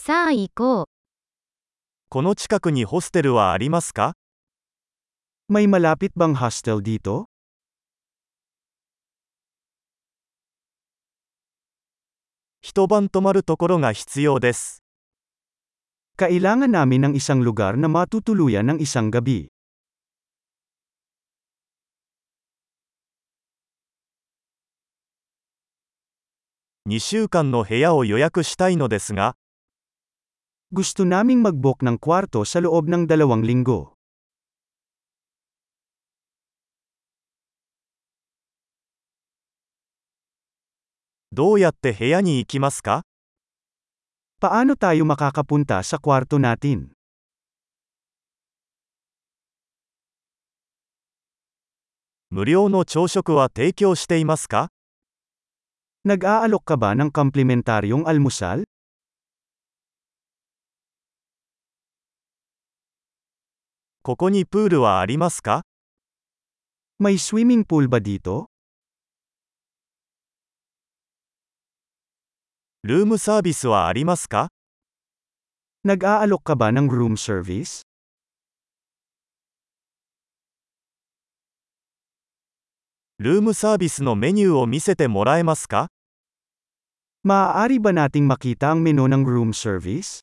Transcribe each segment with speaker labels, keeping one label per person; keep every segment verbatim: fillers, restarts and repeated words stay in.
Speaker 1: さあ行こう。
Speaker 2: この近くにホステルはありますか？
Speaker 3: May malapit bang hostel dito?
Speaker 2: 一晩泊まるところが必要です。
Speaker 3: Kailangan namin ng isang lugar na matutuluyan ng isang gabi.
Speaker 2: にしゅうかんの部屋を予約したいのですが、
Speaker 3: Gusto naming mag-book ng kwarto sa loob ng dalawang linggo.
Speaker 2: どうやって部屋に行きますか？
Speaker 3: Paano tayo makakapunta sa kwarto natin?
Speaker 2: 無料の朝食は提供していますか？
Speaker 3: Nag-aalok ka ba ng komplementaryong almusal?
Speaker 2: ここにプールはありますか？
Speaker 3: May swimming pool ba dito?
Speaker 2: ルームサービスはありますか？
Speaker 3: Nag-aalok ka ba ng room service?
Speaker 2: ルームサービスのメニューを見せてもらえますか？
Speaker 3: Maaari ba nating makita ang menu ng room service?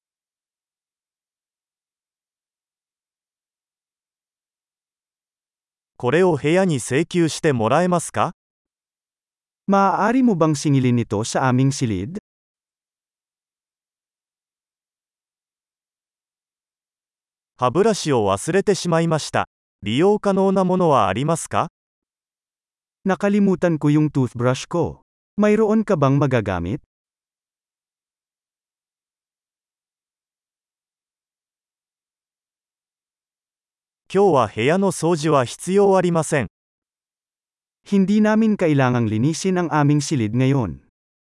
Speaker 2: これを部屋に請求してもらえますか？
Speaker 3: Maaari mo bang singilin ito sa aming silid?
Speaker 2: 歯ブラシを忘れてしまいました。利用可能なものはありますか？
Speaker 3: Nakalimutan ko yung toothbrush ko. Mayroon ka bang magagamit?
Speaker 2: 今日は部屋の掃除は必要ありません。
Speaker 3: Hindi namin kailangang linisin ang aming silid ngayon.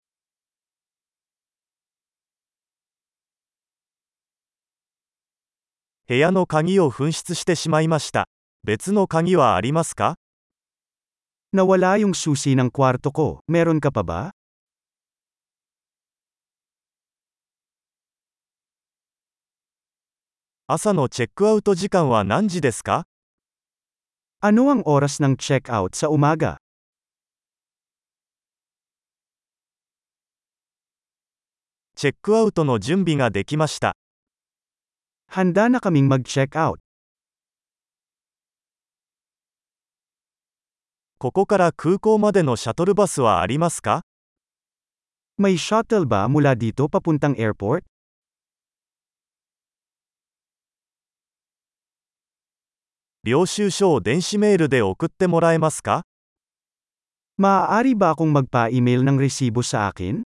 Speaker 2: 部屋の鍵を紛失してしまいました。別の鍵はありますか？
Speaker 3: Nawala yung susi ng kwarto ko. Meron ka pa ba?
Speaker 2: 朝のチェックアウト時間は何時ですか？
Speaker 3: Ano ang oras ng check-out sa umaga?
Speaker 2: チェックアウトの準備ができました。
Speaker 3: Handa na kaming mag-check-out.
Speaker 2: ここから空港までのシャトルバスはありますか？
Speaker 3: May shuttle ba mula dito papuntang airport?
Speaker 2: 領収書を電子メールで送ってもらえますか？
Speaker 3: Maaari ba akong magpa-email ng resibo sa akin?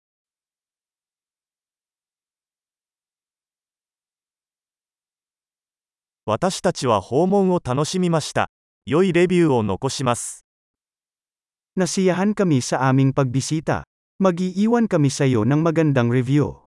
Speaker 2: 私たちは訪問を楽しみました。良いレビューを残します。
Speaker 3: Nasiyahan kami sa aming pagbisita. Mag-iiwan kami sa iyo ng magandang review.